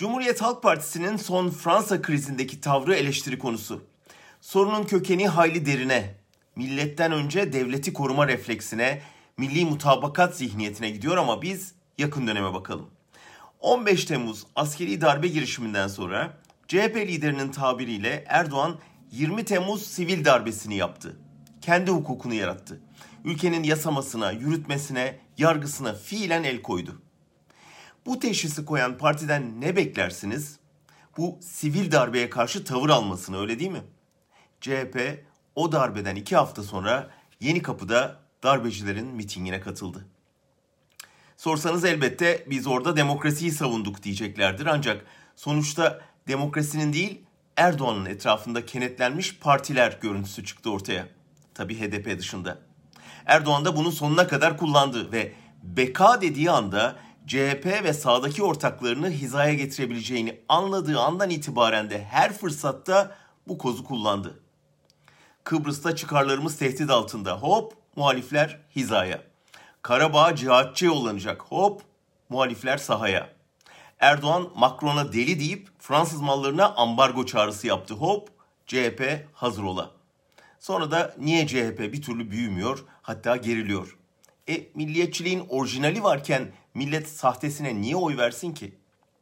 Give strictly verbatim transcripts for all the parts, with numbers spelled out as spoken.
Cumhuriyet Halk Partisi'nin son Fransa krizindeki tavrı eleştiri konusu. Sorunun kökeni hayli derine, milletten önce devleti koruma refleksine, milli mutabakat zihniyetine gidiyor ama biz yakın döneme bakalım. on beş Temmuz askeri darbe girişiminden sonra C H P liderinin tabiriyle Erdoğan yirmi Temmuz sivil darbesini yaptı. Kendi hukukunu yarattı. Ülkenin yasamasına, yürütmesine, yargısına fiilen el koydu. Bu teşhisi koyan partiden ne beklersiniz? Bu sivil darbeye karşı tavır almasını, öyle değil mi? C H P o darbeden iki hafta sonra Yenikapı'da darbecilerin mitingine katıldı. Sorsanız elbette biz orada demokrasiyi savunduk diyeceklerdir. Ancak sonuçta demokrasinin değil Erdoğan'ın etrafında kenetlenmiş partiler görüntüsü çıktı ortaya. Tabii H D P dışında. Erdoğan da bunu sonuna kadar kullandı ve beka dediği anda C H P ve sağdaki ortaklarını hizaya getirebileceğini anladığı andan itibaren de her fırsatta bu kozu kullandı. Kıbrıs'ta çıkarlarımız tehdit altında, hop muhalifler hizaya. Karabağ cihatçı yollanacak, hop muhalifler sahaya. Erdoğan Macron'a deli deyip Fransız mallarına ambargo çağrısı yaptı, hop C H P hazır ola. Sonra da niye C H P bir türlü büyümüyor, hatta geriliyor? E milliyetçiliğin orijinali varken millet sahtesine niye oy versin ki?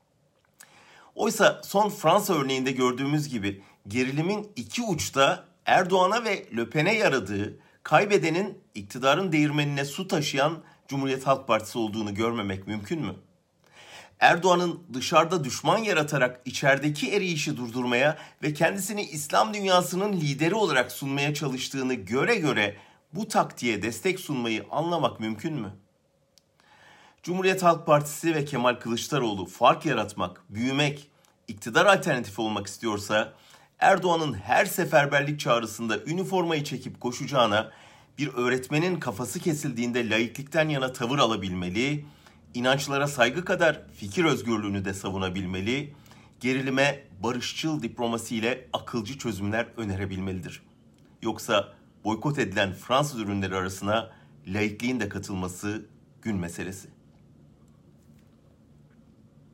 Oysa son Fransa örneğinde gördüğümüz gibi gerilimin iki uçta Erdoğan'a ve Le Pen'e yaradığı, kaybedenin iktidarın değirmenine su taşıyan Cumhuriyet Halk Partisi olduğunu görmemek mümkün mü? Erdoğan'ın dışarıda düşman yaratarak içerideki eriyişi durdurmaya ve kendisini İslam dünyasının lideri olarak sunmaya çalıştığını göre göre bu taktiğe destek sunmayı anlamak mümkün mü? Cumhuriyet Halk Partisi ve Kemal Kılıçdaroğlu fark yaratmak, büyümek, iktidar alternatifi olmak istiyorsa Erdoğan'ın her seferberlik çağrısında üniformayı çekip koşacağına bir öğretmenin kafası kesildiğinde laiklikten yana tavır alabilmeli, inançlara saygı kadar fikir özgürlüğünü de savunabilmeli, gerilime barışçıl diplomasiyle akılcı çözümler önerebilmelidir. Yoksa boykot edilen Fransız ürünleri arasına laikliğin de katılması gün meselesi.